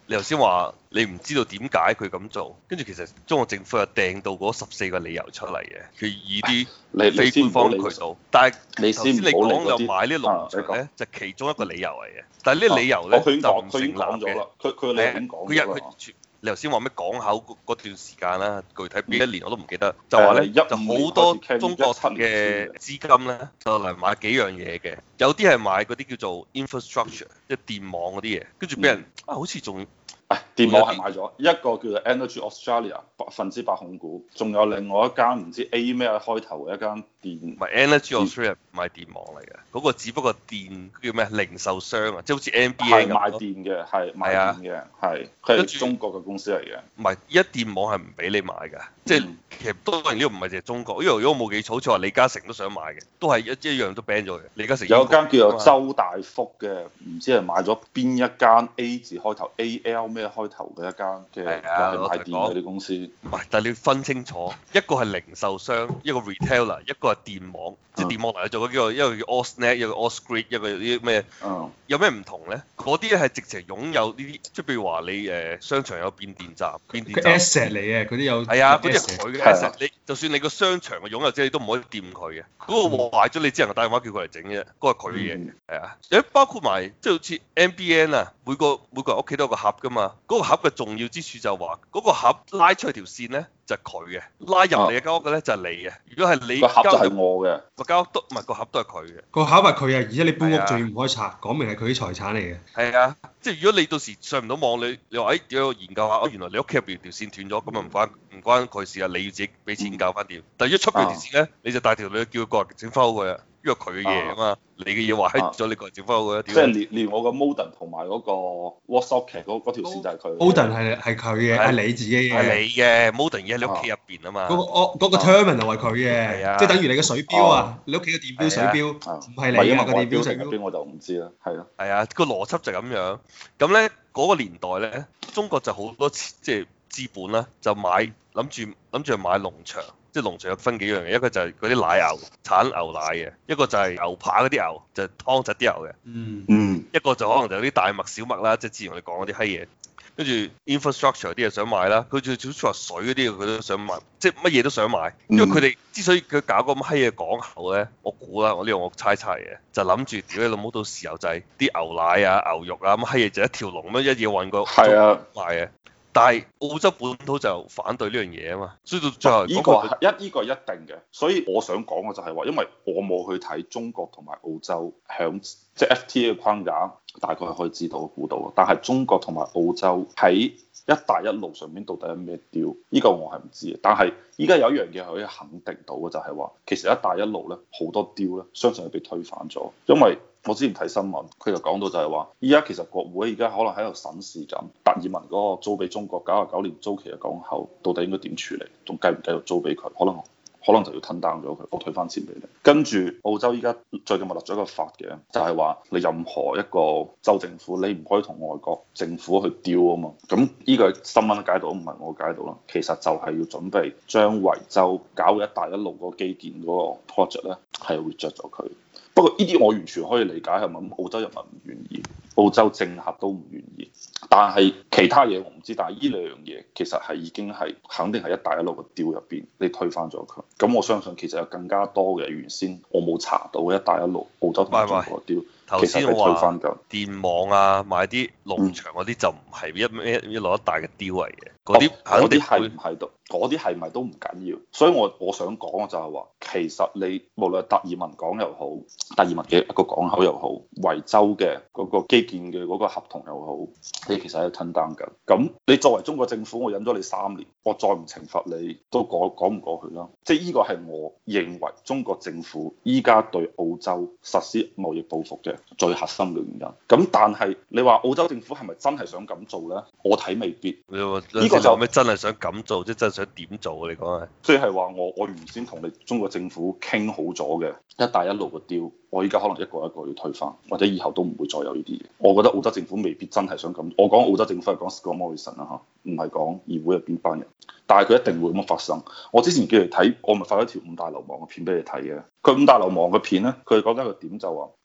你頭先話你唔知道點解佢咁做，跟住其實中國政府又掟到嗰14個理由出嚟嘅，佢以啲非官方渠道。但係頭先你講又買呢農場咧，就其中一個理由嚟嘅。但係呢理由咧就唔成立嘅。 佢嘅理由點講咗啦？ 你頭先話咩港口嗰段時間啦，具體邊一年我都唔記得，就話咧就好多中國嘅資金咧就嚟買幾樣嘢嘅，有啲係買嗰啲叫做 infrastructure， 即係電網嗰啲嘢，跟住俾人好似仲電網係買咗一個叫做 Energy Australia 100%控股，仲有另外一間唔知 A 咩開頭嘅一間電， 唔係 Energy Australia 買電網嚟嘅，嗰個只不過電叫咩零售商啊，即係好似 NBA 咁。係賣電嘅，係賣電嘅，係佢係中國嘅公司嚟嘅。 唔係，依家電網係唔俾你買㗎，即係其實當然呢個唔係淨係中國，因為如果我冇記錯，好似話李嘉誠都想買嘅，都係一樣都 ban 咗嘅。李嘉誠有間叫做周大福嘅，唔知係買咗邊一間 A 字開頭 AL 咩開頭嘅一間嘅賣電嗰啲公司。 唔係，但係你要分清楚，一個係零售商，一個 retailer，一個係電網，即係電網嚟做嗰個，一個叫 AusNet，一個 AusGrid，一個啲咩？有咩唔同咧？嗰啲咧係直情擁有呢啲，即係譬如話你商場有變電站，變電站。 asset 嚟嘅，嗰啲有。 係啊，嗰啲係佢嘅 asset。你就算你個商場嘅擁有者，你都唔可以掂佢嘅。嗰個壞咗，你只能夠打電話叫佢嚟整啫。嗰個係佢嘅嘢。係啊，包括埋即係好似 NBN 啊，每個人屋企都有個盒㗎嘛。嗰個盒嘅重要之處就係話，嗰個盒拉出去條線咧就係佢嘅，拉入你嘅間屋嘅咧就係你嘅。如果係你個盒就係我嘅， 個間屋都唔係個盒都係佢嘅。 個盒係佢啊，而且你搬屋仲要唔可以拆，講明係佢啲財產嚟嘅。 係啊，即係如果你到時上唔到網，你話點解研究下？原來你屋企入邊條線斷咗，咁啊唔關佢事啊，你要自己俾錢搞翻掂。但係一出邊條線咧，你就帶條女叫佢過嚟整翻好佢啊，因為佢嘅嘢啊嘛，你嘅嘢壞咗，你過嚟整翻好佢啊。 即係連我個 modem 同埋嗰個 WhatsApp 嗰條線就係佢。 modem 係佢嘅，係你自己嘅。 係你嘅 modem 而喺你屋企入邊啊嘛。 嗰個 terminal 係佢嘅，即係等於你嘅水錶啊，你屋企嘅電錶水錶唔係你嘅個電錶水錶。 我就唔知啦，係咯。 係啊，個邏輯就咁樣。咁咧嗰個年代咧，中國就好多即係資本啦，就諗住買農場。即係農場有分幾樣嘅，一個就係嗰啲奶牛產牛奶嘅，一個就係牛扒嗰啲牛，就係湯質啲牛嘅。一個就可能就有啲大麥小麥啦，即係之前我哋講嗰啲閪嘢。跟住 infrastructure 啲嘢想買啦，佢仲好似話水嗰啲佢都想買，即係乜嘢都想買。因為佢哋之所以佢搞個咁閪嘅港口咧，我估啦，我呢個我猜嘅，就諗住屌你老母到時候就係啲牛奶啊、牛肉啊咁閪嘢就一條龍咁樣一嘢運過賣嘅。但係澳洲本土就反對呢樣嘢啊嘛，所以到最後呢個係一定嘅。所以我想講嘅就係話，因為我冇去睇中國同埋澳洲響即係 FTA 嘅框架，大概可以知道估到。但係中國同埋澳洲喺一帶一路上面到底有咩 deal？呢個我係唔知嘅。但係依家有一樣嘢可以肯定到嘅就係話，其實一帶一路咧好多 deal 咧，相信係被推翻咗，因為我之前睇新聞，佢就講到就係話，依家其實國會而家可能喺度審視緊達爾文嗰個租俾中國99年租期嘅港口，到底應該點處理，仲繼唔繼續租俾佢？可能就要吞 down 咗佢，我退翻錢俾你。跟住澳洲依家最近咪立咗一個法嘅，就係話你任何一個州政府，你唔可以同外國政府去 deal 啊嘛。咁呢個新聞解讀唔係我解讀啦，其實就係要準備將維州搞一帶一路嗰個基建嗰個 project 咧，係 reject 咗佢。不過呢啲我完全可以理解係咪？澳洲人民唔願意，澳洲政客都唔願意。但係其他嘢我唔知，但係呢兩樣嘢其實係已經係肯定係一帶一路嘅 deal 入邊，你推翻咗佢。咁我相信其實有更加多嘅原先我冇查到嘅一帶一路澳洲同中國嘅 deal。 頭先我話電網啊，買啲農場嗰啲就唔係一路一帶嘅 deal 嚟嘅，嗰啲係唔係都嗰啲係咪都唔緊要？所以我想講嘅就係話，其實你無論達爾文港又好，達爾文嘅一個港口又好，維州嘅嗰個基建嘅嗰個合同又好，你其實喺度吞單緊。咁你作為中國政府，我忍咗你3年，我再唔懲罰你都講唔過去啦。即係呢個係我認為中國政府依家對澳洲實施貿易報復嘅最核心嘅原因。咁但係你話澳洲政府係咪真係想咁做呢？我睇未必。 呢個就咩真係想咁做，即係真係想點做啊？你講係？ 即係話我原先同你中國政府傾好咗嘅一帶一路嘅 deal，我依家可能一個一個要推翻，或者以後都唔會再有呢啲嘢。我覺得澳洲政府未必真係想咁。我講澳洲政府係講 Scott Morrison 啦嚇，唔係講議會入邊班人。但係佢一定會咁樣發生。我之前叫你睇，我咪發咗條5大流氓嘅片俾你睇嘅。佢5大流氓嘅片咧，佢講緊一個點就話，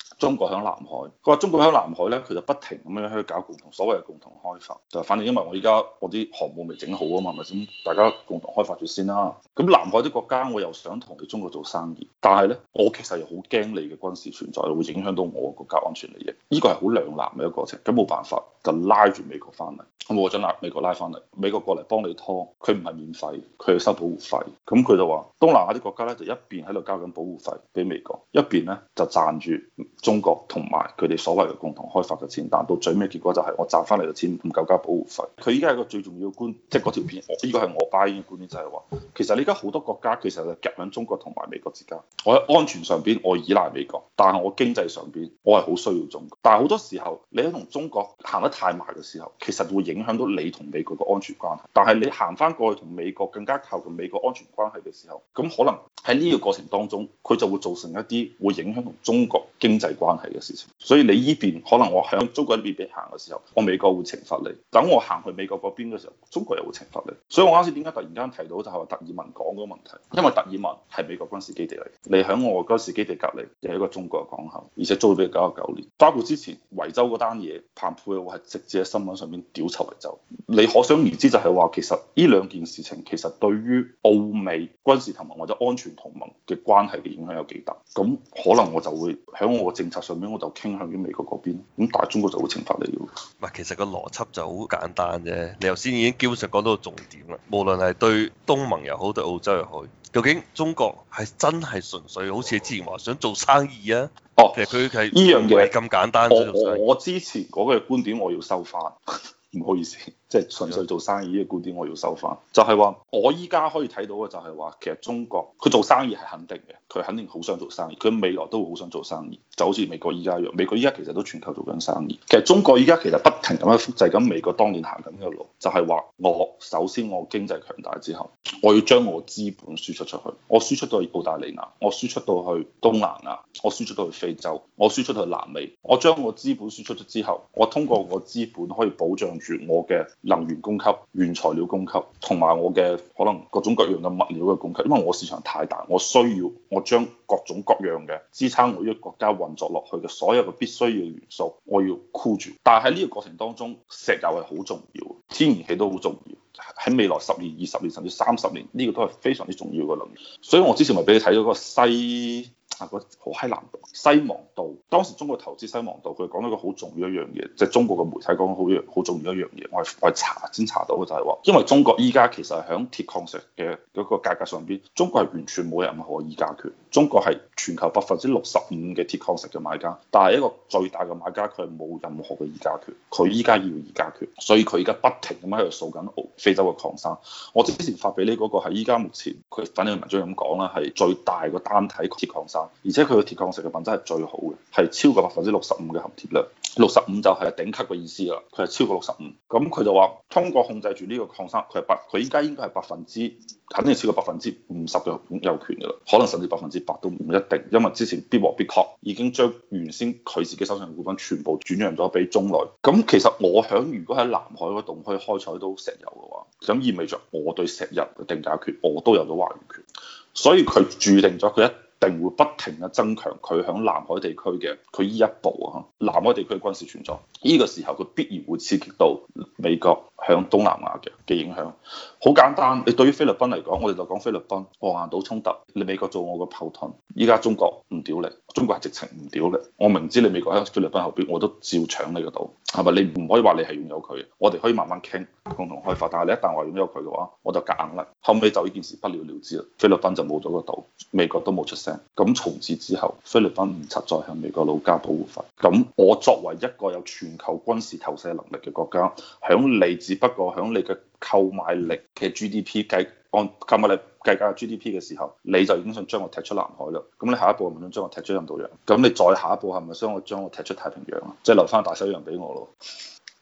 中國響南海，佢話中國響南海咧，佢就不停咁樣去搞所謂嘅共同開發，就反正因為我依家我啲航母未整好啊嘛，咪先大家共同開發住先啦。咁南海啲國家我又想同你中國做生意，但係咧我其實又好驚你嘅軍事存在會影響到我國家安全利益，呢個係好兩難嘅一個過程。咁冇辦法就拉住美國翻嚟，咁我就拉美國拉翻嚟，美國過嚟幫你拖，佢唔係免費，佢要收保護費。咁佢就話東南亞啲國家咧就一邊喺度交緊保護費俾美國，一邊咧就賺住中國同埋佢哋所謂嘅共同開發嘅錢，但到最尾結果就係我賺翻嚟嘅錢唔夠交保護費。佢依家係一個最重要嘅觀，即係嗰條片，呢個係我 buy 嘅觀點就係話，其實你而家好多國家其實就夾喺中國同埋美國之間。我喺安全上邊我依賴美國，但係我經濟上邊我係好需要中國。但係好多時候你喺同中國行得太埋嘅時候，其實會影響到你同美國嘅安全關係。但係你行翻過去同美國更加靠近美國安全關係嘅時候，咁可能喺呢個過程當中，佢就會造成一啲會影響同中國經濟關係嘅事情。所以你依邊可能我喺中國呢邊行嘅時候，我美國會懲罰你；等我行去美國嗰邊嘅時候，中國又會懲罰你。所以我啱先點解突然間提到就係話達爾文講嗰個問題，因為達爾文係美國軍事基地嚟，你喺我軍事基地隔離又係一個中國嘅港口，而且租咗俾99年。包括之前維州嗰單嘢，彭佩奧係直接喺新聞上面屌臭維州。你可想而知就係話，其實呢兩件事情其實對於澳美軍事同盟或者安全同盟嘅關係嘅影響有幾大？咁可能我就會喺我嘅政策上面，我就傾向於美國嗰邊，咁但係中國就會懲罰你嘅。 唔係，其實個邏輯就好簡單啫。你頭先已經基本上講到個重點啦。無論係對東盟又好，對澳洲又好，究竟中國係真係純粹好似你之前話想做生意啊？ 哦， 其實佢係呢樣嘢咁簡單。 我之前嗰個觀點我要收翻。唔好意思，即係純粹做生意呢個觀點我要收翻。就係話，我依家可以睇到嘅就係話，其實中國佢做生意係肯定嘅，佢肯定好想做生意，佢未來都會好想做生意，就好似美國依家一樣。美國依家其實都全球做緊生意。其實中國依家其實不停咁樣複製緊美國當年行緊嘅路，就係話我首先我經濟強大之後，我要將我資本輸出出去，我輸出到去澳大利亞，我輸出到去東南亞，我輸出到去非洲，我輸出到去南美。我將我資本輸出咗之後，我通過我資本可以保障住我嘅能源供給、原材料供給，同埋我嘅可能各種各樣嘅物料嘅供給。因為我市場太大，我需要我將各種各樣嘅支撐我呢個國家運作落去嘅所有嘅必須嘅元素，我要箍住。但係喺呢個過程當中，石油係好重要，天然氣都好重要。喺未來10年、20年甚至30年，呢個都係非常之重要嘅能源。所以我之前咪俾你睇咗個好閪難讀西望道。當時中國投資西望道，佢講咗一個好重要一樣嘢，即係中國嘅媒體講好重要一樣嘢。我係查先查到嘅就係話，因為中國依家其實係響鐵礦石嘅嗰個價格上邊，中國係完全冇任何議價權。中國係全球65%嘅鐵礦石嘅買家，但係一個最大嘅買家，佢係冇任何嘅議價權。佢依家要議價權，所以佢依家不停咁喺度掃緊非洲嘅礦山。我之前發俾你嗰個係依家目前佢反正文章咁講啦，係最大個單體鐵礦山。而且佢嘅鐵礦石嘅品質係最好嘅，係超過65%嘅含鐵量。65就係頂級嘅意思啦，佢係超過65。咁佢就話通過控制住呢個礦山，佢依家應該係肯定超過50%嘅擁有權㗎啦，可能甚至100%都唔一定，因為之前必和必確已經將原先佢自己手上嘅股份全部轉讓咗俾中內。咁其實我如果喺南海嗰度可以開採到石油嘅話，咁意味着我對石油嘅定價權我都有咗話語權，所以佢注定咗佢一定會不停嘅增強佢響南海地區嘅佢依一步啊，南海地區嘅軍事存在。呢個時候佢必然會刺激到美國響東南亞嘅影響。好簡單，你對於菲律賓嚟講，我哋就講菲律賓黃岩島衝突，你美國做我個炮盾，依家中國唔屌你，中國係直情唔屌你。我明知你美國喺菲律賓後邊，我都照搶你個島，係咪？你唔可以話你係擁有佢，我哋可以慢慢傾共同開發。但係你一旦話擁有佢嘅話，我就夾硬嚟。後尾就呢件事不了了之啦，菲律賓就冇咗個島，美國都冇出聲。咁從此之後，菲律賓唔實再向美國佬交保護費。咁我作為一個有全球軍事投射能力嘅國家，響你只不過響你嘅購買力嘅 GDP 按購買力計價 GDP 嘅時候，你就已經想將我踢出南海啦。咁你下一步係咪想將我踢出印度洋？咁你再下一步係咪想將我踢出太平洋啊？即係留翻大西洋俾我咯。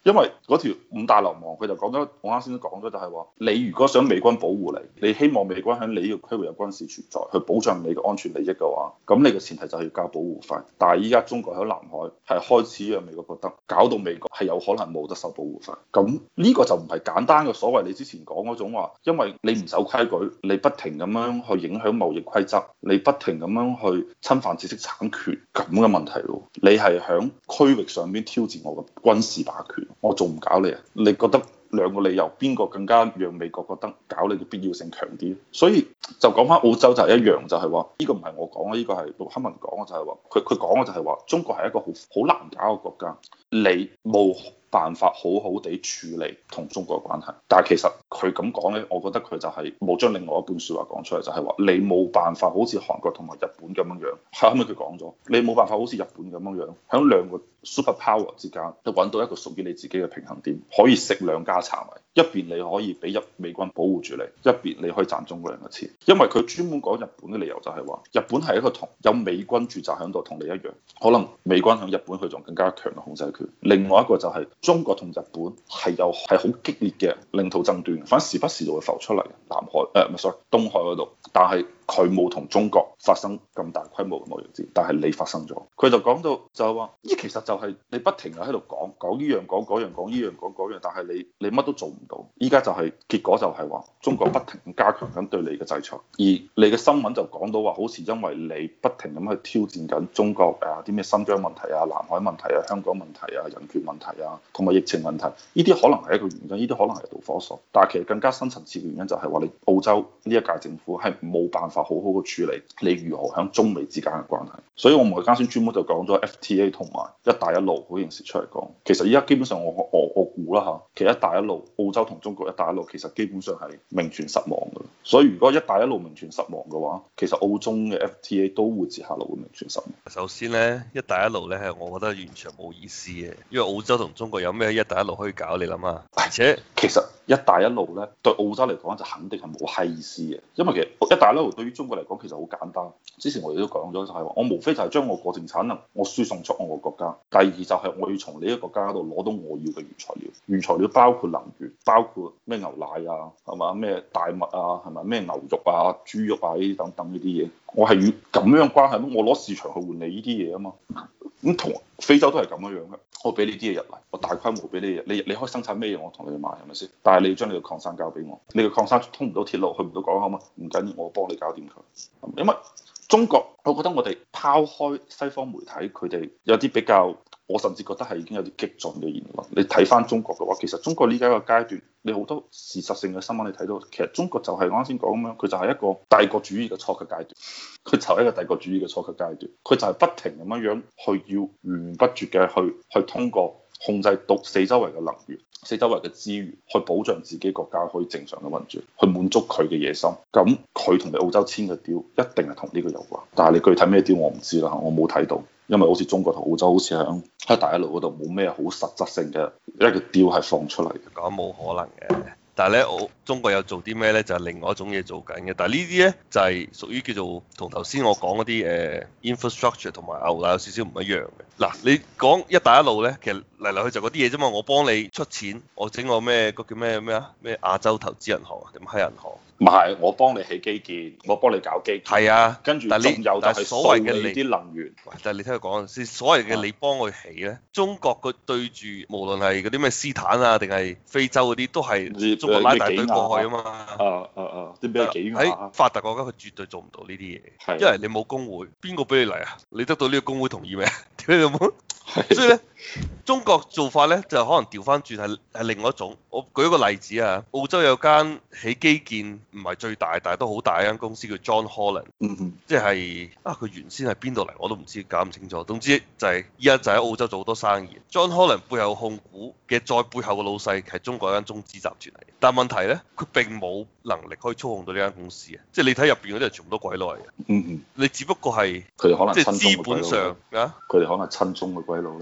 因為嗰條五大流亡佢就講咗，我啱先都講咗就係話，你如果想美軍保護你，你希望美軍喺你呢個區域有軍事存在，去保障你嘅安全利益嘅話，咁你嘅前提就係要交保護費。但係依家中國喺南海係開始讓美國覺得，搞到美國係有可能冇得收保護費。咁呢個就唔係簡單嘅所謂你之前講嗰種話，因為你唔守規矩，你不停咁樣去影響貿易規則，你不停咁樣去侵犯知識產權咁嘅問題咯。你係喺區域上邊挑戰我嘅軍事霸權，我仲唔搞你啊？你覺得兩個理由邊個更加讓美國覺得搞你嘅必要性強啲？所以就講翻澳洲就係一樣，就係話呢個唔係我講啊，呢個係陸克文講嘅，就係話佢講嘅就係話中國係一個好難搞嘅國家，你冇辦法好好地處理同中國嘅關係。但係其實佢咁講呢，我覺得佢就係冇將另外一半説話講出嚟，就係話你冇辦法好似韓國同埋日本咁樣樣，後尾佢講咗，你冇辦法好似日本咁樣樣，喺兩個 super power 之間就揾到一個屬於你自己嘅平衡點，可以食兩家茶米，一邊你可以俾美軍保護住你，一邊你可以賺中國人嘅錢。因為佢專門講日本嘅理由就係話，日本係一個同有美軍駐紮喺度，同你一樣，可能美軍喺日本佢仲更加強嘅控制權。另外一個就係中國同日本係好激烈嘅領土爭端，反正時不時就會浮出嚟南海唔係 sorry 東海嗰度，但係佢冇同中國發生咁大規模嘅貿易戰，但係你發生咗。佢就講到就係話，呢其實就係你不停喺度講呢樣講嗰樣講呢樣講嗰樣，但係你乜都做唔到。依家就係結果就係話，中國不停加強緊對你嘅制裁，而你嘅新聞就講到話，好似因為你不停咁去挑戰緊中國啲咩新疆問題啊、南海問題啊、香港問題啊、人權問題啊，同埋疫情問題，呢啲可能係一個原因，呢啲可能係導火索。但係其實更加深層次嘅原因就係話，你澳洲呢一屆政府係冇辦法好好嘅處理你如何響中美之間嘅關係。所以我唔係啱先專門就講咗 FTA 同埋一帶一路嗰件事出嚟講，其實依家基本上我估啦嚇，其實一帶一路澳洲同中國一帶一路其實基本上係名存實亡嘅。所以如果一帶一路名存實亡嘅話，其實澳中嘅 FTA 都會接下來會名存實亡。 首先咧，一帶一路咧係我覺得完全冇意思嘅，因為澳洲同中國有咩一帶一路可以搞？你諗下，而且其實一帶一路咧對澳洲嚟講就肯定係冇閪意思嘅，因為其實一帶一路對於中國嚟講其實好簡單。之前我哋都講咗就係話，我無非就係將我過剩產能我輸送出我個國家。第二就係我要從你一個國家度攞到我要嘅原材料，原材料包括能源，包括咩牛奶啊，係嘛，咩大麥啊，係咪咩牛肉啊、豬肉啊呢啲等等呢啲嘢，我係要咁樣關係，我攞市場去換你呢啲嘢啊嘛。咁同非洲都係咁樣樣嘅，我俾你啲嘢入嚟，我大規模俾你嘢，你可以生產咩嘢，我同你買係咪先？但係你要將你嘅礦山交俾我，你嘅礦山通唔到鐵路，去唔到港口嘛？唔緊要，我幫你搞掂佢。因為中國，我覺得我哋拋開西方媒體，佢哋有啲比較，我甚至覺得係已經有啲激進嘅言論。你睇翻中國嘅話，其實中國呢家一個階段，你好多事實性嘅新聞你睇到，其實中國就係我啱先講咁樣，佢就係一個帝國主義嘅初級階段，佢就係一個帝國主義嘅初級階段，佢就係不停咁樣樣去要源源不絕嘅去通過控制到四周圍嘅能源、四周圍嘅資源，去保障自己國家可以正常嘅運轉，去滿足佢嘅野心。咁佢同你澳洲簽嘅雕一定係同呢個有關，但係你具體咩雕我唔知啦，我冇睇到，因為好似中國同澳洲好似喺一帶一路嗰度冇咩好實質性嘅一個雕係放出嚟。 講冇可能嘅。但係咧，中國有做啲咩咧？就係另外一種嘢做緊嘅。但係呢啲咧就係屬於叫做同頭先我講嗰啲infrastructure 同埋牛奶有少少唔一樣嘅。嗱，你講一帶一路咧，其實嚟嚟去就嗰啲嘢啫嘛。我幫你出錢，我整個咩個叫咩啊？咩亞洲投資銀行啊？定係銀行？ 唔係，我幫你起基建，我幫你搞基建。 係啊， 跟住仲有就係所謂嘅你啲能源。 但係你聽佢講先，所謂嘅你幫佢起咧，中國佢對住無論係嗰啲咩斯坦啊，定係非洲嗰啲，都係中國拉大隊過去啊嘛。 啲咩幾喺發達國家佢絕對做唔到呢啲嘢，因為你冇工會，邊個俾你嚟啊？你得到呢個工會同意咩？屌你老母！所以咧，中國做法咧就可能調翻轉係另外一種。我舉一個例子啊，澳洲有間起基建唔係最大，但係都好大一間公司叫 John Holland，即係佢原先係邊度嚟我都唔知，搞唔清楚。總之就係依家就喺澳洲做好多生意。John Holland 背後控股嘅再背後嘅老細係中國一間中資集團嚟，但係問題咧，佢並冇能力可以操控到呢間公司啊！即係你睇入邊嗰啲係全部都鬼佬嚟嘅。你只不過係佢哋可能即係資本上啊， 佢哋可能親中嘅鬼佬咧。 唔係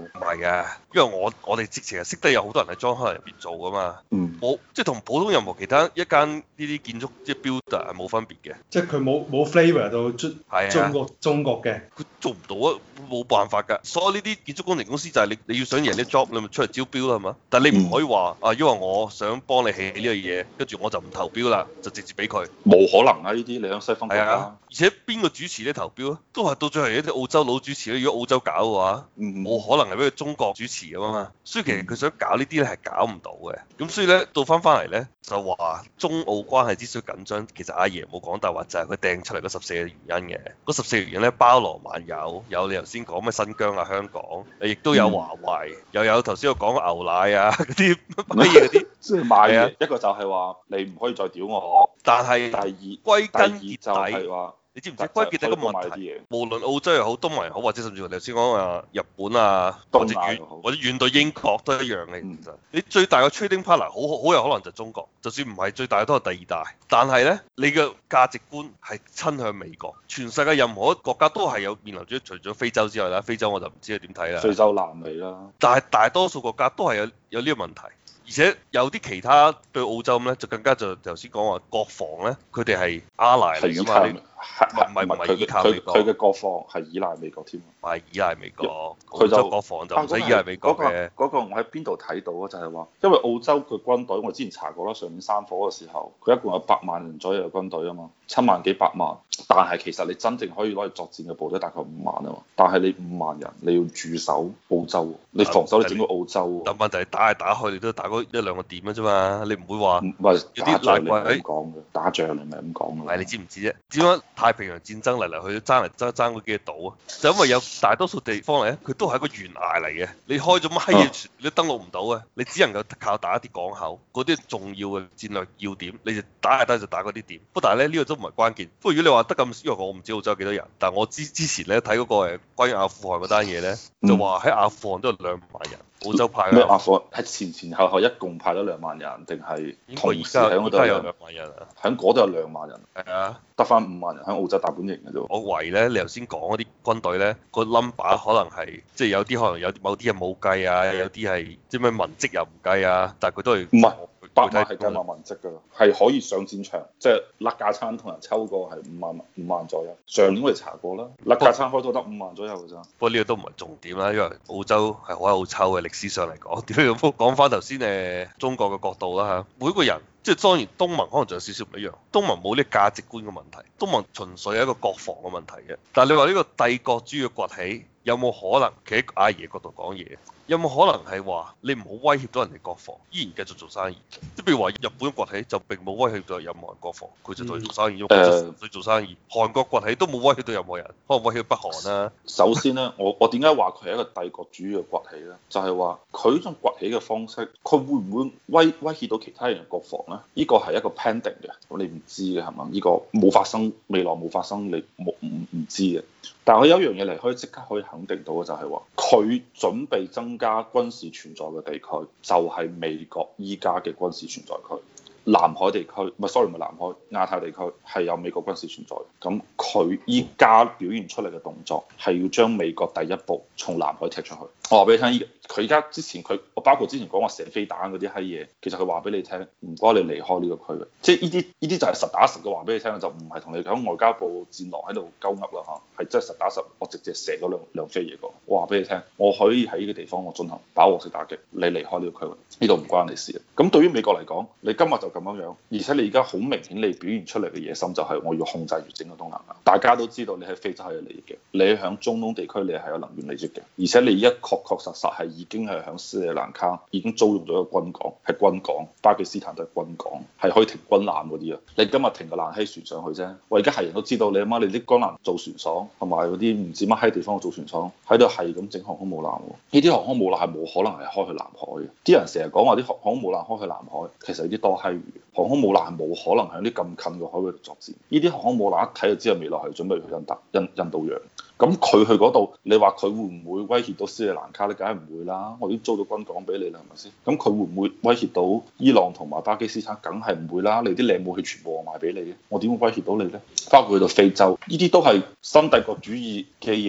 啊，因為我哋之前係識得有好多人喺莊開入邊做噶嘛，冇即係同普通任何其他一間呢啲建築即係 builder 係冇分別嘅， 即係佢冇 flavour 到中國嘅， 佢做唔到啊，冇辦法㗎。所有呢啲建築工程公司就係你要想贏啲 job，你咪出嚟招標啦，係嘛？但係你唔可以話啊，因為我想幫你起呢個嘢，跟住我就唔投標啦，就直接俾佢。 冇可能啊！呢啲你喺西方國家， 而且邊個主持呢投標啊？都係到最後一啲澳洲佬主持。如果澳洲搞嘅話，冇可能係俾佢中國主持㗎嘛。所以其實佢想搞呢啲咧係搞唔到嘅。咁所以咧到翻嚟咧就話中澳關係之所以緊張，其實阿爺冇講大話，就係佢掟出嚟嗰14個原因嘅。嗰14個原因咧包羅萬有，有你頭先講咩新疆啊、香港，亦都有華為，又有頭先我講牛奶啊嗰啲乜嘢嗰啲， 即係賣嘅。一個就係話你唔可以再屌我， 但係第二歸根結就係話。 你知唔知關鍵係一個問題？無論澳洲又好，東盟又好，或者甚至乎頭先講話日本啊，或者遠到英國都一樣嘅。其實你最大嘅 trading partner 好有可能就係中國，就算唔係最大都係第二大。但係咧，你嘅價值觀係親向美國。全世界任何一個國家都係有面臨住，除咗非洲之外啦，非洲我就唔知你點睇啦。 非洲南美啦， 但係大多數國家都係有呢個問題。而且有啲其他對澳洲咁咧，就更加就頭先講話國防咧，佢哋係阿賴嚟㗎嘛，唔係依靠美國， 佢嘅國防係依賴美國添， 唔係依賴美國， 佢就國防就唔使依賴美國嘅。 嗰個我喺邊度睇到啊？就係話，因為澳洲嘅軍隊，我之前查過啦，上年山火嘅時候，佢一共有8萬人左右嘅軍隊啊嘛，7萬幾8萬，但係其實你真正可以攞嚟作戰嘅部隊大概5萬啊嘛，但係你5萬人你要駐守澳洲，你防守你整個澳洲， 但問題係打嚟打去，你都打嗰1-2個點嘅啫嘛，你唔會話唔係有啲難怪咁講嘅，打仗你咪咁講嘅。 係你知唔知啫？點解太平洋戰爭嚟嚟去去爭嗰幾個島啊？就因為有大多數地方嚟咧，佢都係一個懸崖嚟嘅，你開咗乜閪嘢你都登陸唔到嘅，你只能夠靠打一啲港口，嗰啲重要嘅戰略要點，你就打就打嗰啲點。不過但係咧呢個都唔係關鍵。不過如果你話得咁，因為我唔知澳洲有幾多人，但係我之前咧睇嗰個關於阿富汗嗰單嘢咧，就話喺阿富汗都有2萬人。澳洲派咩阿富汗係前後一共派咗2萬人，定係同時喺嗰度有2萬人啊？ 喺嗰度有2萬人， 係啊， 得翻5萬人喺澳洲大本營嘅啫。 我懷疑咧，你頭先講嗰啲軍隊咧，個 number 可能係即係有啲可能有某啲係冇計啊，有啲係即係咩文職又唔計啊，但係佢都係唔係8萬係計埋文職㗎，係可以上戰場，即係甩架餐同人抽過係5萬左右。上年我哋查過啦，甩架餐開到得5萬左右㗎咋。 不過呢個都唔係重點啦，因為澳洲係好有抽嘅歷史上嚟講。點樣講翻頭先中國嘅角度啦嚇，每個人。即係當然，東盟可能仲有少少唔一樣。東盟冇呢個價值觀嘅問題，東盟純粹係一個國防嘅問題嘅。但係你話呢個帝國主義嘅崛起有冇可能企喺阿爺角度講嘢？有冇可能係話你唔好威脅到人哋國防，依然繼續做生意？即係譬如話日本崛起就並冇威脅到任何人國防，佢就同佢做生意，因為佢做生意。韓國崛起都冇威脅到任何人，可能威脅北韓啦。 首先咧，我點解話佢係一個帝國主義嘅崛起咧？就係話佢呢種崛起嘅方式，佢會唔會威脅到其他人嘅國防咧？呢個係一個 pending 嘅，咁你唔知嘅係嘛？呢個冇發生，未來冇發生，你唔知嘅。但係我有一樣嘢嚟可以即刻可以肯定到嘅就係話，佢準備增加軍事存在嘅地區，就係美國依家嘅軍事存在區。南海地區唔係，sorry，唔係南海，亞太地區係有美國軍事存在。咁佢依家表現出嚟嘅動作係要將美國第一步從南海踢出去。我話俾你聽，佢依家之前我包括之前講話射飛彈嗰啲閪嘢，其實佢話俾你聽，唔該你離開呢個區域。即係呢啲就係實打實嘅話俾你聽，就唔係同你講外交部戰狼喺度鳩噏啦嚇，係真係實打實，我直接射咗兩飛嘢過。我話俾你聽，我可以喺呢個地方我進行飽和式打擊，你離開呢個區域，呢度唔關你事。咁對於美國嚟講，你今日就咁樣，而且你而家好明顯你表現出嚟嘅野心就係我要控制住整個東南亞。大家都知道你喺非洲係有利益嘅，你喺中東地區你係有能源利益嘅，而且你而家確實係已經係喺斯里蘭卡已經租用咗一個軍港，係軍港，巴基斯坦都係軍港，係可以停軍艦嗰啲啊。你今日停個爛閪船上去啫，我而家係人都知道你阿媽你啲軍艦造船廠同埋嗰啲唔知乜閪地方嘅造船廠喺度係咁整航空母艦喎，呢啲航空母艦係冇可能係開去南海嘅。啲人成日講話啲航空母艦開去南海，其實有啲多閪餘。航空母艦係冇可能喺啲咁近嘅海域度作戰。呢啲航空母艦一睇就知道未來係準備去印度洋。咁佢去嗰度，你話佢會唔會威脅到斯里蘭卡咧？梗係唔會啦，我已經租到軍港俾你啦，係咪先？咁佢會唔會威脅到伊朗同埋巴基斯坦？梗係唔會啦，你啲靚武器全部我賣俾你嘅，我點會威脅到你咧？包括去到非洲，呢啲都係新帝國主義嘅嘢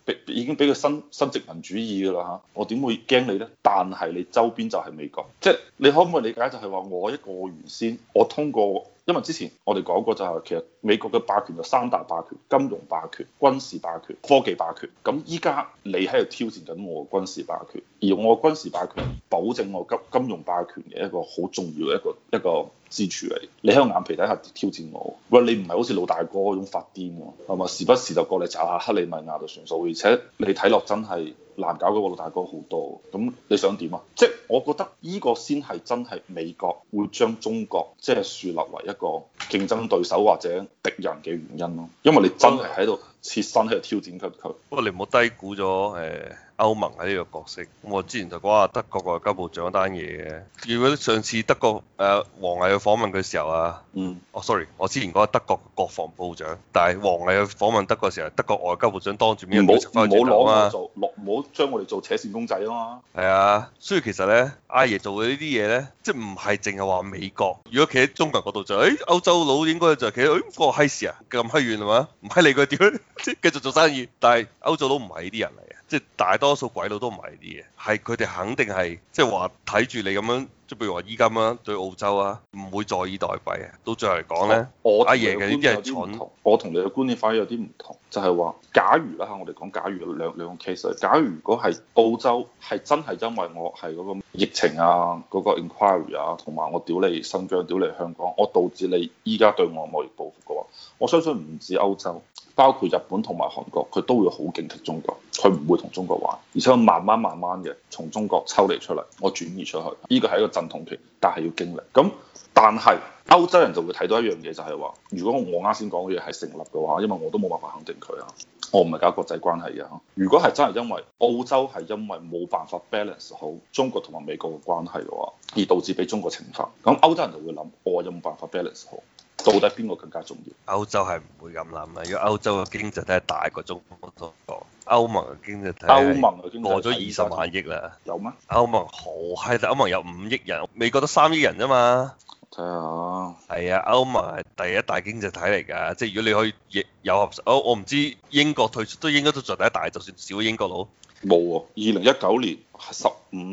已經俾佢新殖民主義㗎啦嚇，我點會驚你呢？但係你周邊就係美國，即係你可唔可以理解就係話我一個原先我通過。因為之前我哋講過就係其實美國嘅霸權就三大霸權：金融霸權、軍事霸權、科技霸權。咁依家你喺度挑戰緊我嘅軍事霸權，而我嘅軍事霸權保證我金融霸權嘅一個好重要嘅一個支柱嚟。你喺我眼皮底下挑戰我，喂，你唔係好似老大哥嗰種發癲喎，係嘛？時不時就過嚟查下克里米亞就算數，而且你睇落真係難搞嗰個老大哥好多。咁你想點啊？即係我覺得呢個先係真係美國會將中國即係樹立為一個競爭對手或者敵人嘅原因咯，因為你真係喺度切身喺度挑戰緊佢。 不過你唔好低估咗歐盟喺呢個角色。咁我之前就講下德國個外交部長嗰單嘢嘅。如果上次德國王毅去訪問佢嘅時候啊，sorry，我之前講德國國防部長，但係王毅去訪問德國嘅時候，德國外交部長當住面唔好攞我做，唔好將我哋做扯線公仔啊嘛。 係啊，所以其實咧，阿爺做嘅呢啲嘢咧，即係唔係淨係話美國。如果企喺中國角度就，歐洲佬應該就企喺，個閪事啊，咁閪遠係嘛？唔閪理佢點，即係繼續做生意。但係歐洲佬唔係呢啲人嚟嘅，即係大多數鬼佬都唔係呢啲嘢，係佢哋肯定係即係話睇住你咁樣。即係譬如話依家咁樣對澳洲啊，唔會坐以待斃啊。到最後嚟講咧，阿爺嘅呢啲係蠢。 我同你嘅觀點反而有啲唔同，就係話，假如啦嚇，我哋講假如兩個 case。假如如果係澳洲係真係因為我係嗰個疫情啊、嗰個 inquiry 啊，同埋我屌你新疆、屌你香港，我導致你依家對我貿易報復嘅話，我相信唔止歐洲，包括日本同埋韓國，佢都會好警惕中國，佢唔會同中國玩，而且我慢慢嘅從中國抽離出嚟，我轉移出去，呢個係一個陣痛期，但係要經歷。咁但係歐洲人就會睇到一樣嘢，就係話，如果我啱先講嘅嘢係成立嘅話，因為我都冇辦法肯定佢啊，我唔係搞國際關係嘅。如果係真係因為澳洲係因為冇辦法 balance 好中國同埋美國嘅關係嘅話，而導致俾中國懲罰，咁歐洲人就會諗，我有冇辦法 balance 好？到底邊個更加重要？ 歐洲係唔會咁諗啊！如果歐洲嘅經濟體係大過中國多，歐盟嘅經濟體過咗20萬億啦。 有咩？ 歐盟好閪大，歐盟有5億人，美國得3億人啫嘛。 睇下。 係啊，歐盟係第一大經濟體嚟㗎，即係如果你可以有合，我唔知英國退出都應該都做第一大，就算少英國佬。 冇喎，2019年係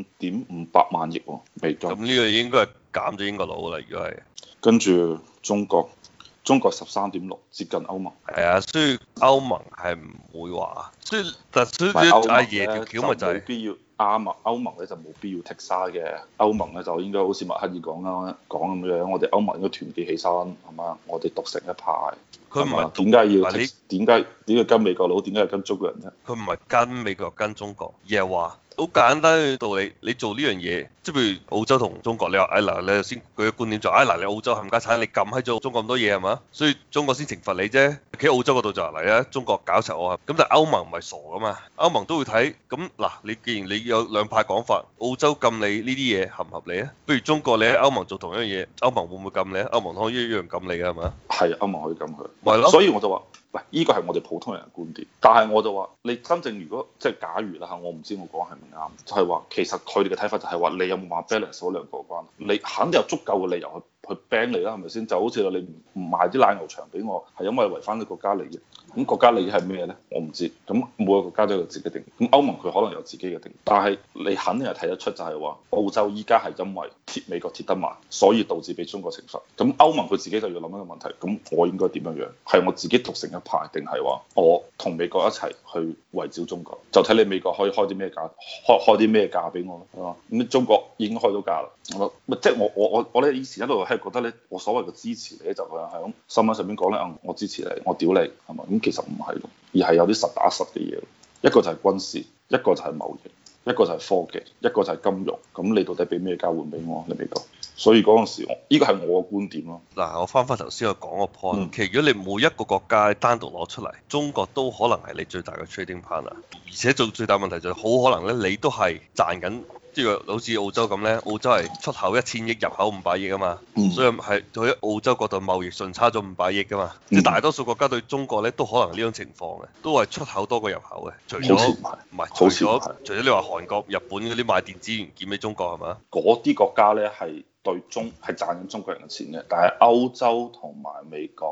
15.58萬億喎，美金。 咁呢個應該係減咗英國佬啦，如果係。 跟住中國13.6，接近歐盟。 係啊，所以歐盟係唔會話，所以阿爺條橋咪就係必要歐盟咧就冇必要剔沙嘅，歐盟咧就應該好似默克爾講咁樣，我哋歐盟應該團結起身，係嘛？我哋獨成一派。 佢唔係點解要點解跟美國佬？點解要跟中國人啫？ 佢唔係跟美國跟中國，而係話好簡單嘅道理。你做呢樣嘢，即係譬如澳洲同中國，你話嗱，你頭先舉嘅觀點就嗱，你澳洲冚家產，你撳喺咗中國咁多嘢係嘛？所以中國先懲罰你啫。企喺澳洲嗰度就嚟啦，中國搞柒我，咁但係歐盟唔係傻噶嘛，歐盟都會睇。咁嗱，你既然你有兩派講法，澳洲禁你呢啲嘢合唔合理啊？不如中國你喺歐盟做同一樣嘢，歐盟會唔會禁你啊？歐盟可以一樣禁你㗎係嘛？ 係歐盟可以禁佢。 係咯， 所以我就話，喂，依個係我哋普通人嘅觀點，但係我就話，你真正如果即係假如啦嚇，我唔知我講係唔啱，就係話其實佢哋嘅睇法就係話，你有冇話 balance 嗰兩個關係？你肯定有足夠嘅理由去 ban 你啦，係咪先？就好似你唔賣啲奶牛場俾我，係因為違反你國家利益。咁國家利益係咩咧？我唔知。咁每個國家都有自己定義。咁歐盟佢可能有自己嘅定義，但係你肯定係睇得出就係話，澳洲依家係因為貼美國貼得慢，所以導致俾中國懲罰。咁歐盟佢自己就要諗一個問題，咁我應該點樣樣？係我自己獨成一派，定係話我同美國一齊去圍剿中國？就睇你美國可以開啲咩價，開啲咩價俾我咯。咁中國已經開到價啦。即係我咧以前一路係覺得咧，我所謂嘅支持你咧，就係喺新聞上面講咧，我支持你，我屌你係咪？咁其實唔係咯，而係有啲實打實嘅嘢。一個就係軍事，一個就係貿易，一個就係科技，一個就係金融。咁你到底俾咩交換俾我？你美國？所以嗰陣時，呢個係我嘅觀點咯。 嗱，我翻返頭先我講個 point，其實如果你每一個國家單獨攞出嚟，中國都可能係你最大嘅 trading partner，而且做最大問題就係好可能咧，你都係賺緊。即係好似澳洲咁咧，澳洲係出口1000億，入口500億啊嘛，所以係喺澳洲嗰度貿易順差咗500億噶嘛。即係大多數國家對中國咧都可能呢種情況嘅，都係出口多過入口嘅。除咗除咗你話韓國、日本嗰啲賣電子元件俾中國係嘛？ 嗰啲國家咧係賺緊中國人嘅錢嘅，但係歐洲同埋美國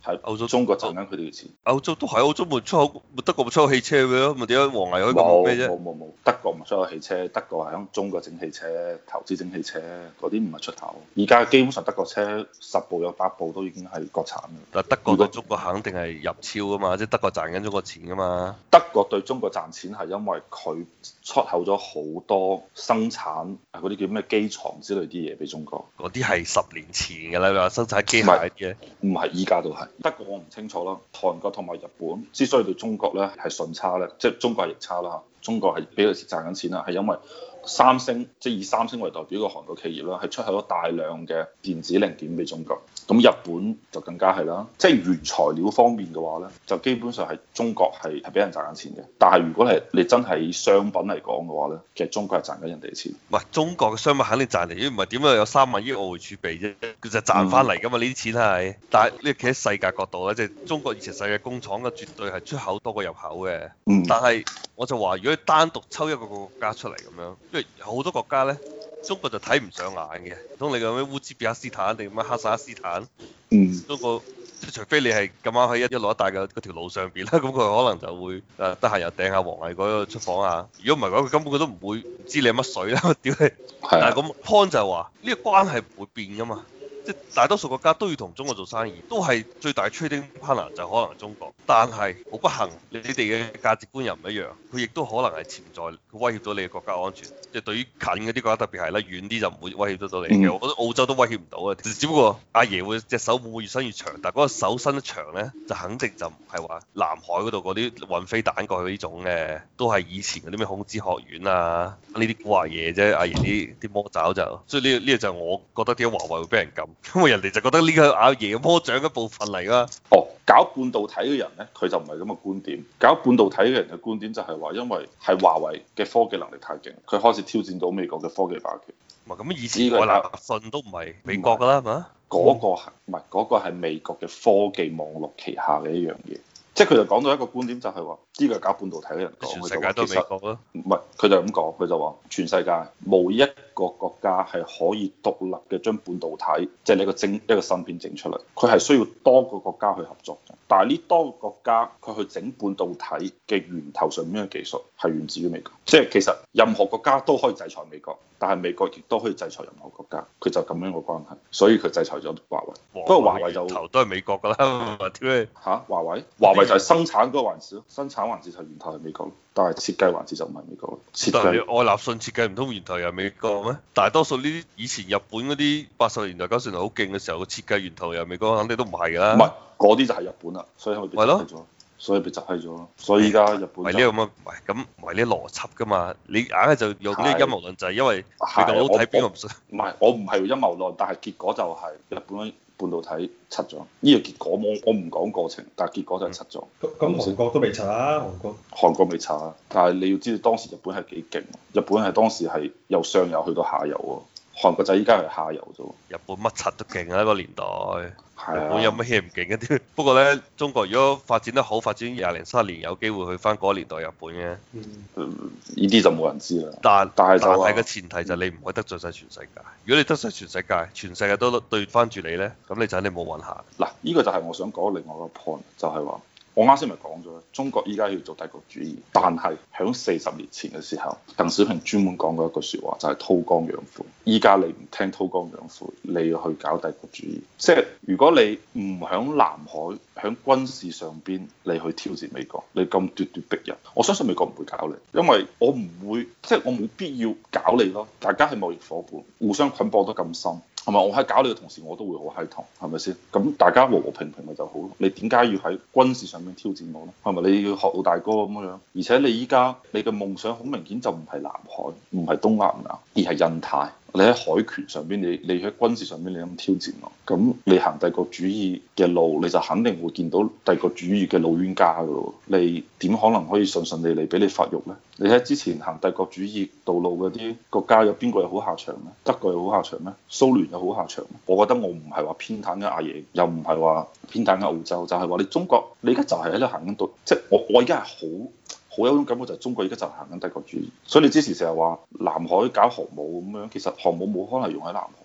喺歐洲中國賺緊佢哋嘅錢。 歐洲都係歐洲冇出口，咪德國冇出口汽車嘅咯，咪點解王毅可以咁冇咩啫？ 冇，德國唔出口汽車，德國係喺中國整汽車，投資整汽車，嗰啲唔係出口。而家基本上德國車10部有8部都已經係國產嘅。 但德國對中國肯定係入超啊嘛，即係德國賺緊中國錢噶嘛。 德國對中國賺錢係因為佢出口咗好多生產嗰啲叫咩機床之類啲嘢俾中國。 嗰啲係10年前㗎啦，你話生產機械嘅。 唔係依家都係。德國我唔清楚啦，韓國同埋日本之所以對中國咧係順差咧，即係中國係逆差啦嚇。中國係比佢賺緊錢啦，係因為三星，即係以三星為代表嘅韓國企業啦，係出口咗大量嘅電子零件俾中國。咁日本就更加係啦，即係原材料方面嘅話咧，就基本上係中國係俾人賺緊錢嘅。但係如果係你真係以商品嚟講嘅話咧，其實中國係賺緊人哋嘅錢。 喂，中國嘅商品肯定賺嚟，如果唔係點解有3萬億外匯儲備啫？佢就賺翻嚟㗎嘛，呢啲錢係。但係呢企喺世界角度咧，即係中國以前世界工廠嘅絕對係出口多過入口嘅。但係我就話，如果你單獨抽一個國家出嚟咁樣，因為好多國家咧，中國就睇唔上眼嘅。唔通你講咩烏茲別克斯坦定乜哈薩克斯坦？中國即係除非你係咁啱喺一路一帶嘅嗰條路上邊啦，咁佢可能就會得閒又掟下王毅嗰個出訪啊。如果唔係講，佢根本佢都唔會唔知你係乜水啦。屌你！但係咁 point 就係話呢個關係唔會變㗎嘛。即係大多數國家都要同中國做生意，都係最大 trading partner 就可能係中國。但係好不幸，你哋嘅價值觀又唔一樣，佢亦都可能係潛在佢威脅到你嘅國家安全。即係對於近嗰啲國家特別係啦，遠啲就唔會威脅得到你嘅。我覺得澳洲都威脅唔到啊，只不過阿爺會隻手會唔會越伸越長，但係嗰個手伸得長咧，就肯定就唔係話南海嗰度嗰啲運飛彈過去呢種嘅，都係以前嗰啲咩孔子學院啊呢啲古惑嘢啫。阿爺啲魔爪就，所以呢個就我覺得點解華為會俾人禁。因為人哋就覺得呢個阿爺嘅魔掌一部分嚟啦。 搞半導體嘅人咧，佢就唔係咁嘅觀點。搞半導體嘅人嘅觀點就係話，因為係華為嘅科技能力太勁，佢開始挑戰到美國嘅科技霸權。 唔係咁以前愛立信都唔係美國㗎啦，係嘛？ 嗰個係唔係嗰個係美國嘅科技網絡旗下嘅一樣嘢。即係佢就講到一個觀點，就係話呢個係搞半導體嘅人講， 全世界都係美國咯。 唔係，佢就咁講，佢就話全世界冇一個國家係可以獨立嘅將半導體，即係你一個芯片整出嚟，佢係需要多個國家去合作嘅。但係呢多個國家佢去整半導體嘅源頭上面嘅技術係源自於美國。即係其實任何國家都可以制裁美國，但係美國亦都可以制裁任何國家。佢就咁樣個關係，所以佢制裁咗華為。不過華為就頭都係美國㗎啦，點解嚇華為就係生產嗰個環節咯，生產環節就源頭係美國，但係設計環節就唔係美國咯。設計愛立信設計唔通源頭又係美國咩？大多數呢啲以前日本嗰啲80年代90年代好勁嘅時候，個設計源頭又係美國，肯定都唔係㗎啦。 唔係嗰啲就係日本啦，所以咪被執咗，所以被執閪咗咯。所以依家日本係呢個咁啊，唔係咁唔係呢邏輯㗎嘛？你硬係就用呢個陰謀論，就係因為美國佬睇邊個唔信。 唔係我唔係陰謀論，但係結果就係日本半導體拆咗。呢個結果我唔講過程，但係結果就係拆咗。 咁韓國都未拆啊？ 韓國未拆啊，但係你要知道當時日本係幾勁，日本係當時係由上游去到下游喎。韓國就依家係下游啫喎。 日本乜柒都勁啊！嗰個年代， 係啊， 日本有乜嘢唔勁一啲？不過咧，中國如果發展得好，發展20年、30年，有機會去翻嗰個年代日本嘅。 呢啲就冇人知啦。 但係個前提就係你唔可以得罪晒全世界。如果你得罪全世界，全世界都對翻住你咧，咁你就肯定冇運行。 嗱，呢個就係我想講另外一個 point，就係話。我啱先咪講咗，中國依家要做帝國主義，但係喺40年前嘅時候，鄧小平專門講過一句説話，就係韜光養晦。依家你唔聽韜光養晦，你要去搞帝國主義。即係如果你唔喺南海、喺軍事上邊，你去挑戰美國，你咁咄咄逼人，我相信美國唔會搞你，因為我唔會，即係我冇必要搞你咯。大家係貿易伙伴，互相捆綁得咁深。係咪？我喺搞你嘅同時，我都會好閪痛，係咪先？咁大家和和平平咪就好咯。你點解要喺軍事上面挑戰我咧？係咪你要學老大哥咁樣？而且你依家你嘅夢想好明顯就唔係南海，唔係東南亞，而係印太。你喺海權上邊，你喺軍事上邊，你咁挑戰我，咁你行帝國主義嘅路，你就肯定會見到帝國主義嘅老冤家噶咯。你點可能可以順順利利俾你發育咧？你睇之前行帝國主義道路嗰啲國家有邊個有好下場咩？德國有好下場咩？蘇聯有好下場咩？我覺得我唔係話偏袒緊阿爺，又唔係話偏袒緊澳洲，就係話你中國，你而家就係喺度行緊到，即係我而家係好有種感覺，就係中國而家就行緊帝國主義。所以你之前成日話南海搞航母咁樣，其實航母冇可能用喺南海。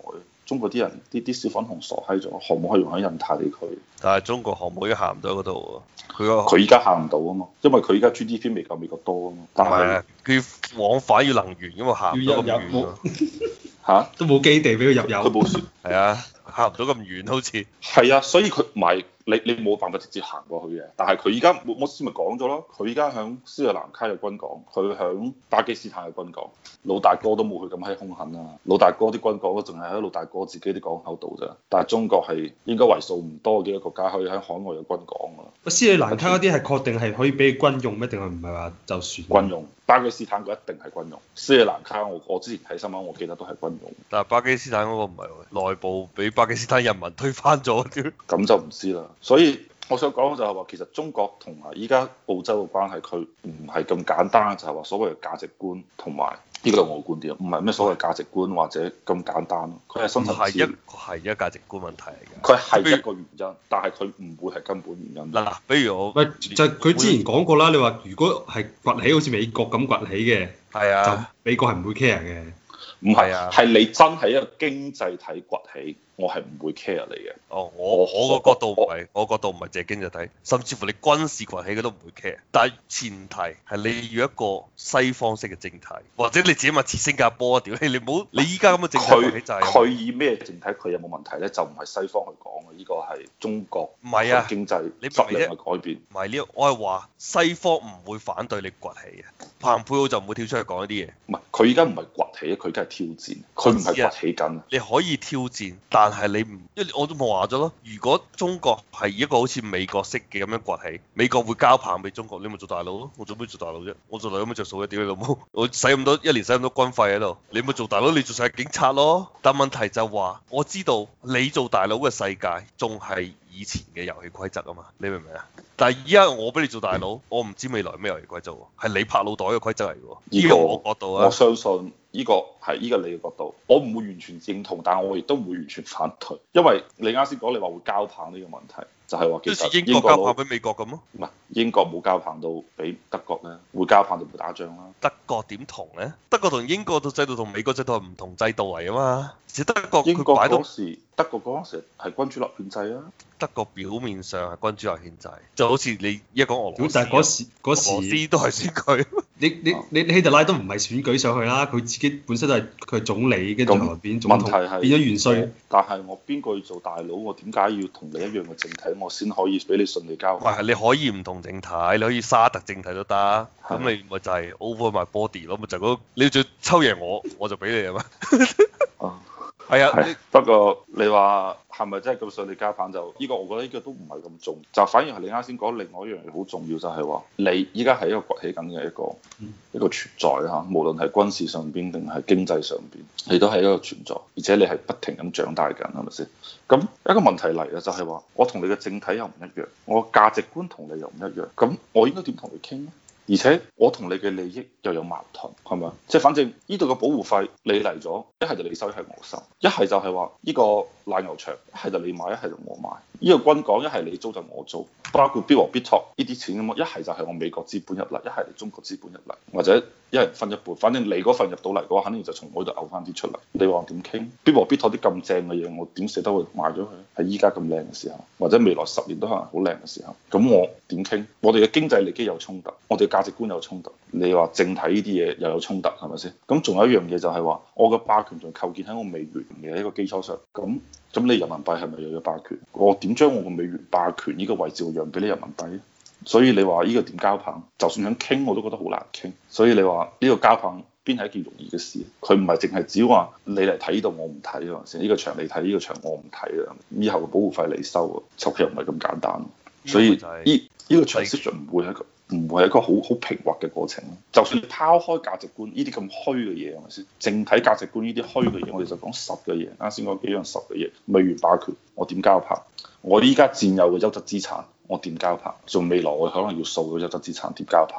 中國啲人啲小粉紅傻閪咗，可唔可以用喺印太地區？ 但係中國航母已經行唔到嗰度喎， 佢依家行唔到啊嘛，因為佢依家 GDP 未夠美國多啊嘛。但係佢往返要能源㗎嘛，行唔到咁遠啊。 嚇，都冇基地俾佢入油。 佢冇船。 係啊，行唔到咁遠好似。 係啊，所以佢唔係你冇辦法直接行過去嘅。但係佢依家我先咪講咗咯，佢依家響斯里蘭卡有軍港，佢響巴基斯坦有軍港。老大哥都冇佢咁閪兇狠啊！老大哥啲軍港都淨係喺老大哥自己啲港口度咋。但係中國係應該為數唔多嘅一個國家可以喺海外有軍港㗎。 斯里蘭卡嗰啲係確定係可以俾軍用咩？定係唔係話就算軍用？巴基斯坦嗰一定係軍用。斯里蘭卡我之前睇新聞，我記得都係軍用。 但係巴基斯坦嗰個唔係喎，內部俾巴基斯坦人民推翻咗啲。 咁就唔知啦。所以我想講就係話，其實中國同埋依家澳洲嘅關係，佢唔係咁簡單，就係話所謂嘅價值觀同埋。呢個係我觀點，唔係咩所謂價值觀或者咁簡單。佢係深層次， 係一個價值觀問題嚟嘅。 佢係一個原因，但係佢唔會係根本原因。 嗱，比如我， 喂，就係佢之前講過啦。你話如果係崛起好似美國咁崛起嘅， 係啊， 就美國係唔會 care 嘅。 唔係啊，係你真係一個經濟體崛起，我係唔會 care 你嘅。 哦，我個角度唔係，我角度唔係淨係經濟體，甚至乎你軍事崛起佢都唔會 care。但係前提係你要一個西方式嘅政體，或者你自己咪似新加坡啊？屌你唔好，你依家咁嘅政體崛起就係佢以咩政體？佢有冇問題咧？就唔係西方去講嘅，呢個係中國唔係啊經濟你質量嘅改變。 唔係呢，我係話西方唔會反對你崛起嘅，彭佩奧就唔會跳出去講呢啲嘢。 唔係，佢而家唔係崛起，佢而家係挑戰。佢唔係崛起緊。 你可以挑戰，但係你唔，因為我都冇話咗咯。如果中國係一個好似美國式嘅咁樣崛起，美國會交棒俾中國，你咪做大佬咯。我做咩做大佬啫？我做大佬有咩着數嘅？屌你老母！我使咁多一年使咁多軍費喺度，你咪做大佬，你做晒警察咯。但問題就話，我知道你做大佬嘅世界仲係以前嘅遊戲規則啊嘛，你明唔明啊？但係依家我俾你做大佬，我唔知未來咩遊戲規則喎，係你拍腦袋嘅規則嚟喎。呢個我角度啊， 我相信呢個係呢個你嘅角度，我唔會完全認同，但係我亦都唔會完全反對，因為你啱先講你話會交棒呢個問題，就係話其實英國交棒俾美國咁咯， 唔係英國冇交棒到俾德國咧，會交棒就會打仗啦。 德國點同咧？德國同英國嘅制度同美國制度係唔同制度嚟啊嘛，只德國英國佢擺到嗰時，德國嗰陣時係君主立憲制啊。 德國表面上係君主立憲制，就好似你一講俄羅斯， 但係嗰時俄羅斯都係選舉。 你希特拉都唔係選舉上去啦，佢自己本身都係佢係總理，跟住後來變總統，變咗元帥。 但係我邊個要做大佬？我點解要同你一樣嘅政體，我先可以俾你順利交？ 係你可以唔同政體，你可以沙特政體都得。咁你咪就係 over my body 咯，咪就嗰你要再抽贏我就俾你啊嘛。係啊， 不過你話係咪真係咁順利交棒就呢個？我覺得呢個都唔係咁重要，就反而係你啱先講另外一樣嘢好重要，就係話你依家係一個崛起緊嘅一個存在嚇，無論係軍事上邊定係經濟上邊，你都係一個存在，而且你係不停咁長大緊，係咪先？咁一個問題嚟啊，就係話我同你嘅政體又唔一樣，我價值觀同你又唔一樣，咁我應該點同你傾咧？而且我同你嘅利益又有矛盾，係咪？即係反正呢度嘅保護費你嚟咗，一係就你收，一係我收，一係就係話呢個奶牛場，一係就你買，一係就我買。呢個軍港一係你租就我租，包括必和必拓呢啲錢咁啊，一係就係我美國資本入嚟，一係你中國資本入嚟，或者一人分一半，反正你嗰份入到嚟嘅話，肯定就從我度嘔翻啲出嚟。你話點傾？必和必拓啲咁正嘅嘢，我點捨得去賣咗佢？喺依家咁靚嘅時候，或者未來10年都可能好靚嘅時候，咁我點傾？我哋嘅經濟利益有衝突，我哋價值觀有衝突。你話政體呢啲嘢又有衝突，係咪先？咁仲有一樣嘢就係話，我嘅霸權仲構建喺我美元嘅一個基礎上，咁你人民幣係咪又有霸權？我點將我個美元霸權呢個位置讓俾你人民幣？所以你話呢個點交棒？就算想傾我都覺得好難傾。所以你話呢個交棒邊係一件容易嘅事？佢唔係淨係只話你嚟睇呢度我唔睇係咪先？呢個場你睇，呢個場我唔睇啊！以後嘅保護費你收啊，其實又唔係咁簡單。所以呢個 transition 唔會係一個好平滑嘅過程。就算你拋開價值觀呢啲咁虛嘅嘢係咪先？淨睇價值觀呢啲虛嘅嘢，我哋就講實嘅嘢。啱先講幾樣實嘅嘢，美元霸權我點交棒？我依家佔有嘅優質資產我點交棒？仲未來我可能要掃嘅優質資產點交棒？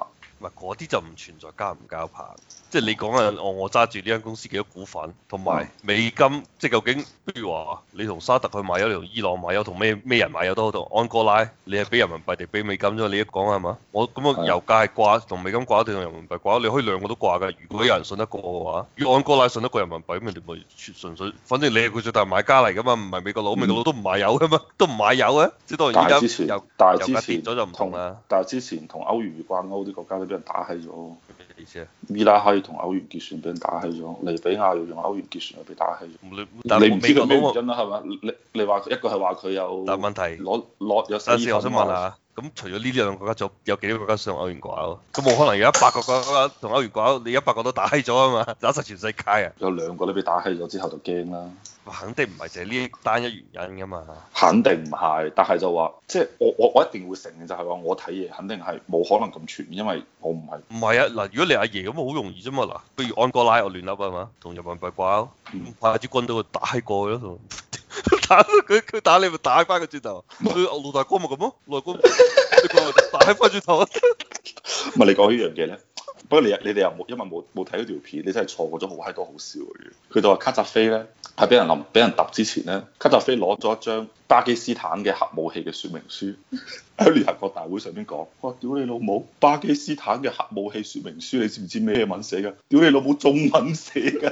唔係嗰啲就唔存在交唔交棒，即係你講緊我揸住呢間公司幾多股份，同埋美金，即係究竟，譬如話你同沙特去買油，你同伊朗買油，同咩人買油都好，同安哥拉，你係俾人民幣定俾美金啫？你一講係嘛？我咁啊油價係掛同美金掛定同人民幣掛，你可以兩個都掛㗎。如果有人信得過嘅話，如果安哥拉信得過人民幣，咁人哋咪純粹，反正你係佢最大買家嚟㗎嘛，唔係美國佬，美國佬都唔買油㗎嘛，都唔買油嘅。即係當然而家油價跌咗就唔同啦。 但係之前同歐元掛鈎啲國家都俾人打閪咗。 咩意思啊？ 伊拉克同歐元結算俾人打閪咗，利比亞又用歐元結算又被打閪咗。 你唔知佢咩原因啦，係嘛？你話一個係話佢有， 但問題攞有等陣我想問下，咁除咗呢兩個國家，仲有幾多個國家想歐元掛鈎？咁冇可能有100個國家同歐元掛鈎，你100個都打閪咗啊嘛，打晒全世界啊！ 有2個都被打閪咗之後就驚啦。 肯定唔係淨係呢單一原因噶嘛。 肯定唔係，但係就話即係我一定會承認就係話我睇嘢肯定係冇可能咁全面，因為我唔係。 唔係啊，嗱，如果你阿爺咁好容易啫嘛，嗱，不如安哥拉我亂噏啊嘛，同人民幣掛鈎，派支軍隊去打閪過去咯，打佢打你咪打翻個轉頭，佢老大哥咪咁咯，老大哥打閪翻轉頭。 唔係你講呢樣嘢咧？不過你哋又冇，因為冇睇嗰條片，你真係錯過咗好閪多好笑嘅嘢。佢就話卡扎菲咧係俾人揼之前咧，卡扎菲攞咗一張巴基斯坦嘅核武器嘅說明書喺聯合國大會上邊講，哇！屌你老母，巴基斯坦嘅核武器說明書你知唔知咩文寫㗎？屌你老母中文寫㗎！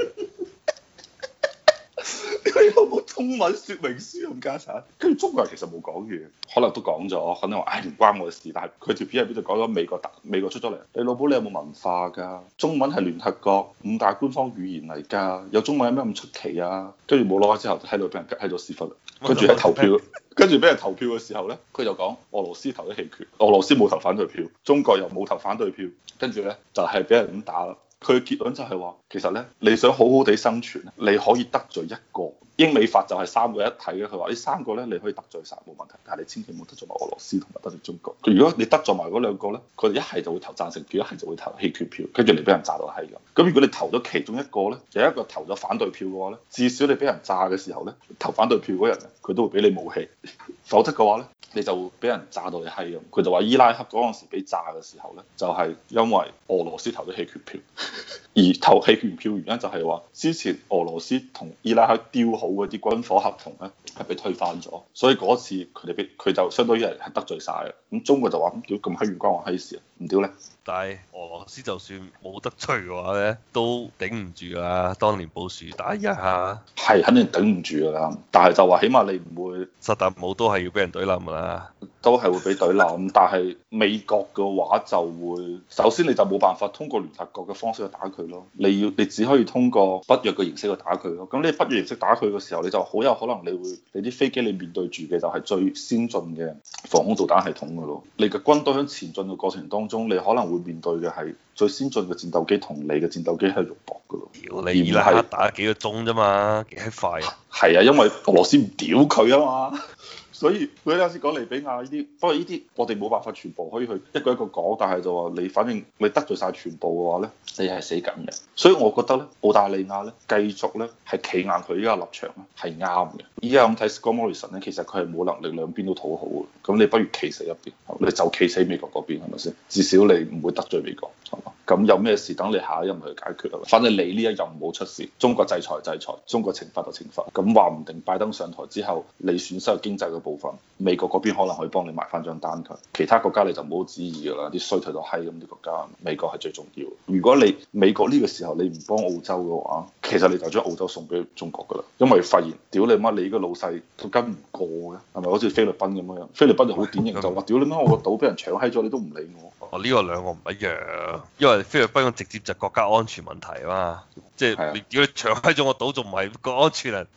佢有冇中文說明書咁家產？跟住中國人其實冇講嘢，可能都講咗，可能話唉唔關我嘅事。但係佢條片入邊就講咗美國出咗嚟，你老母你有冇文化㗎？中文係聯合國5大官方語言嚟㗎，有中文有咩咁出奇啊？跟住冇耐之後喺度俾人喺度屎忽，跟住喺投票，跟住俾人投票嘅時候咧，佢就講俄羅斯投咗棄權，俄羅斯冇投反對票，中國又冇投反對票，跟住咧就係俾人咁打啦。佢嘅結論就係話，其實咧你想好好地生存，你可以得罪一個。英美法就係3個一體嘅，佢話呢3個咧你可以得罪晒冇問題，但係你千祈唔好得罪埋俄羅斯同埋得罪中國。如果你得罪埋嗰2個咧，佢哋一係就會投贊成票，一係就會投棄權票，跟住你俾人炸到閪咁。咁如果你投咗其中一個咧，有一個投咗反對票嘅話咧，至少你俾人炸嘅時候咧，投反對票嗰人咧，佢都會俾你武器，否則嘅話咧，你就會俾人炸到你閪咁。佢就話伊拉克嗰陣時俾炸嘅時候咧，就係因為俄羅斯投咗棄權票，而投棄權票原因就係話之前俄羅斯同伊拉克丟好嗰啲軍火合同咧係被推翻咗，所以嗰次佢就相當於係得罪晒嘅。咁中國就話咁屌咁閪遠關我閪事啊，唔屌咧。 但係俄羅斯就算冇得罪嘅話咧，都頂唔住啊！當年布殊打一下， 係肯定頂唔住㗎啦。但係就話起碼你唔會薩達姆都係要俾人懟冧㗎啦， 都係會俾懟冧。但係美國嘅話就會，首先你就冇辦法通過聯合國嘅方式去打佢咯。你只可以通過北約嘅形式去打佢咯。咁你北約形式打佢嘅時候，你就好有可能你啲飛機你面對住嘅就係最先進嘅防空導彈系統㗎咯。你嘅軍隊喺前進嘅過程當中，你可能會面對嘅係最先進嘅戰鬥機同你嘅戰鬥機係肉搏㗎咯。 屌你伊拉克打幾個鐘啫嘛，幾閪快啊！ 係啊，因為俄羅斯唔屌佢啊嘛。所以佢啱先講利比亞呢啲，不過呢啲我哋冇辦法全部可以去一個一個講，但係就話你反正你得罪晒全部嘅話咧，你係死緊嘅。所以我覺得咧，澳大利亞咧繼續咧係企硬佢依家立場咧係啱嘅。依家咁睇 Scott Morrison 咧，其實佢係冇能力兩邊都討好嘅。咁你不如企死一邊，你就企死美國嗰邊係咪先？至少你唔會得罪美國，係嘛？咁有咩事等你下一任去解決啊？反正你呢一任冇出事，中國制裁制裁，中國懲罰就懲罰。咁話唔定拜登上台之後，你損失嘅經濟嘅部分，美國嗰邊可能可以幫你埋翻張單佢。其他國家你就唔好旨意㗎啦，啲衰退到閪咁啲國家，美國係最重要。如果你美國呢個時候你唔幫澳洲嘅話，其實你就將澳洲送俾中國㗎啦，因為發現屌你媽你個老細都跟唔過嘅，係咪好似菲律賓咁樣？菲律賓就好典型就話屌你媽我個島俾人搶閪咗，你都唔理我。 呢個兩個唔一樣，因為菲律賓直接就國家安全問題啊嘛，即係你屌你搶閪咗我島，仲唔係個安全啊？